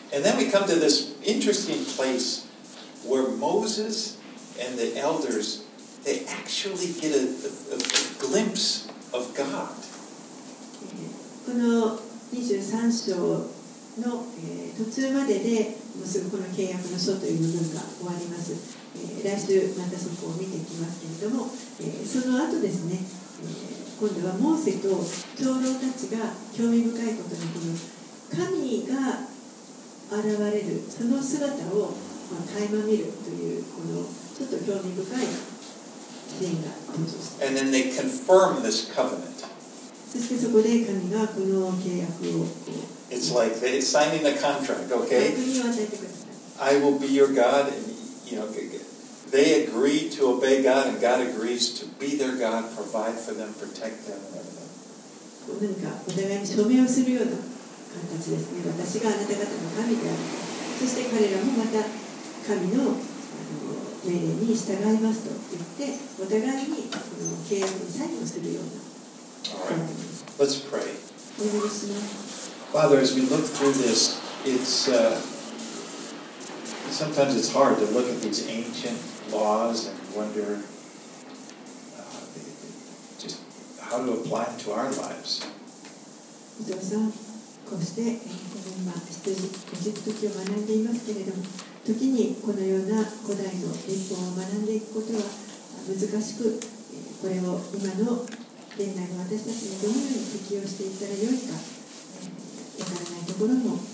And then we come to this interesting place where Moses and the elders, they actually get a glimpse of God. この23章の、途中まででもうすぐこの契約の書という部分が終わります。来週またそこを見ていきますけれども、その後ですね、今度はモーセと長老たちが興味深いことにこの神が現れるその姿を垣間見るというこのちょっと興味深いシーンが登場します。 And then they confirm this covenant. そしてそこで神がこの契約を It's like they're signing a contract, 約 okay? に与えてください。 I will be your God, and they agree to obey God, and God agrees to be their God, provide for them, protect them, and everything. 何かお互いに証明をするような形ですね。私があなた方の神である。そして彼らもまた神の命令に従いますと言って、お互いにこの契約にサインをするような。 All right, let's pray. お願いします。 Father, as we look through this, sometimes it's hard to look at these ancient laws and wonder just how to apply them to our lives. 伊藤さん、こうして今出エジプト記を学んでいますけれども、時にこのような古代の立法を学んでいくことは難しく、これを今の現代の私たちにどのように適用していったらよいかわからないところもあります。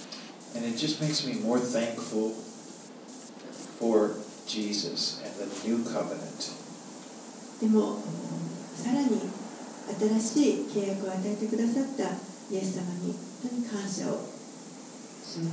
And it just makes me more thankful for Jesus and the new covenant. でもさらに新しい契約を与えてくださったイエス様に本当に感謝をします。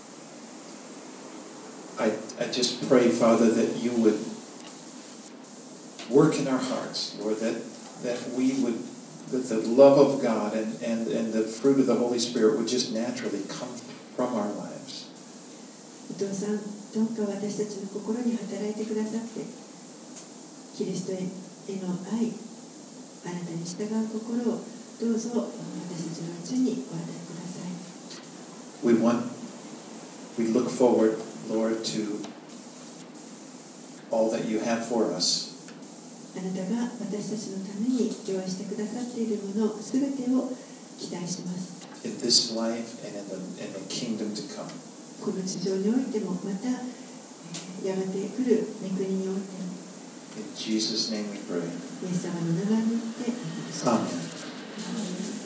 I just pray, Father, that you would work in our hearts, Lord, that the love of God and the fruit of the Holy Spirit would just naturally come from our lives. お父さん、どうか私たちの心に働いてくださって、キリストへの愛、あなたに従う心をどうぞ私たちのうちにお与えください。 We look forward, Lord, to all that you have for us. あなたが私たちのために用意してくださっているものすべてを期待します。 In this life and in the kingdom to come. この地上においてもまたやがて来る御国においても In Jesus' name we pray. イエス様の名前によってお願いします。